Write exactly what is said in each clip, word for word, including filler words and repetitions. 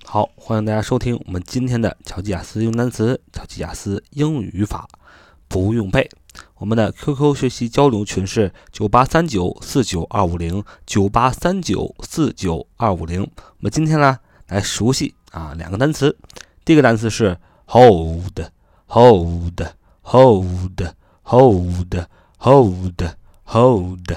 好，欢迎大家收听我们今天的巧记雅思用单词、巧记雅思英语语法，不用背。我们的 Q Q 学习交流群是九八三九四九二五零 九八三九四九二五零。我们今天呢来熟悉啊两个单词。第一个单词是 hold hold hold hold hold hold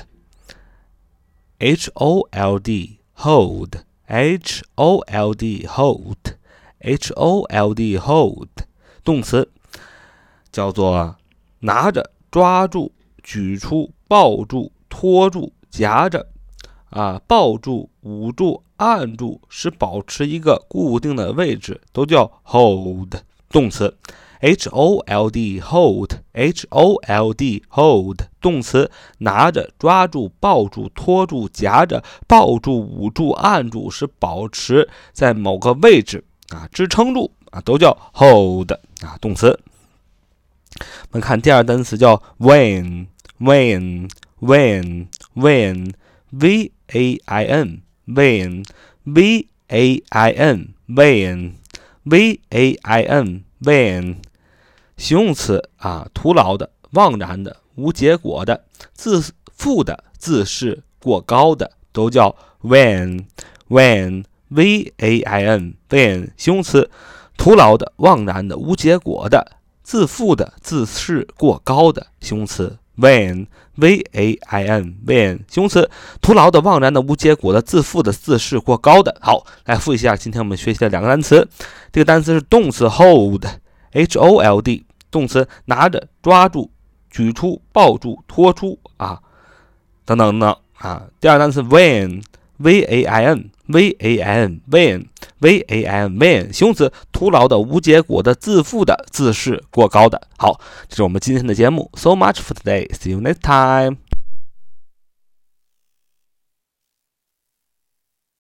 H O L D hold H O L D hold H O L D hold 动词叫做拿着、抓住、举出、抱住、拖住、夹着啊，抱住、捂住、按住，使保持一个固定的位置，都叫 hold 动词。H O L D hold H O L D hold 动词拿着、抓住、抱住、拖住、夹着、抱住、捂住、按住，使保持在某个位置啊，支撑住啊，都叫 hold 啊动词。我们看第二单词叫 vain vain vain vain V A I N vain V A I N vain V A I N vain 形容词啊，徒劳的、妄然的、无结果的、自负的、自视过高的，都叫 vain vain V A I N vain 形容词，徒劳的、妄然的、无结果的、自负的、自视过高的，形容词 vain V A I N vain 形容词，徒劳的、妄然的、无结果的、自负的、自视过高的。好，来复习一下今天我们学习的两个单词。这个单词是动词 hold H O L D 动词拿着、抓住、举出、抱住、拖出啊等等等等啊。第二单词 vain V A I N V A I N vain V A I N vain 形容词，徒劳的、无结果的、自负的、自视过高的。好，这是我们今天的节目。So much for today. See you next time.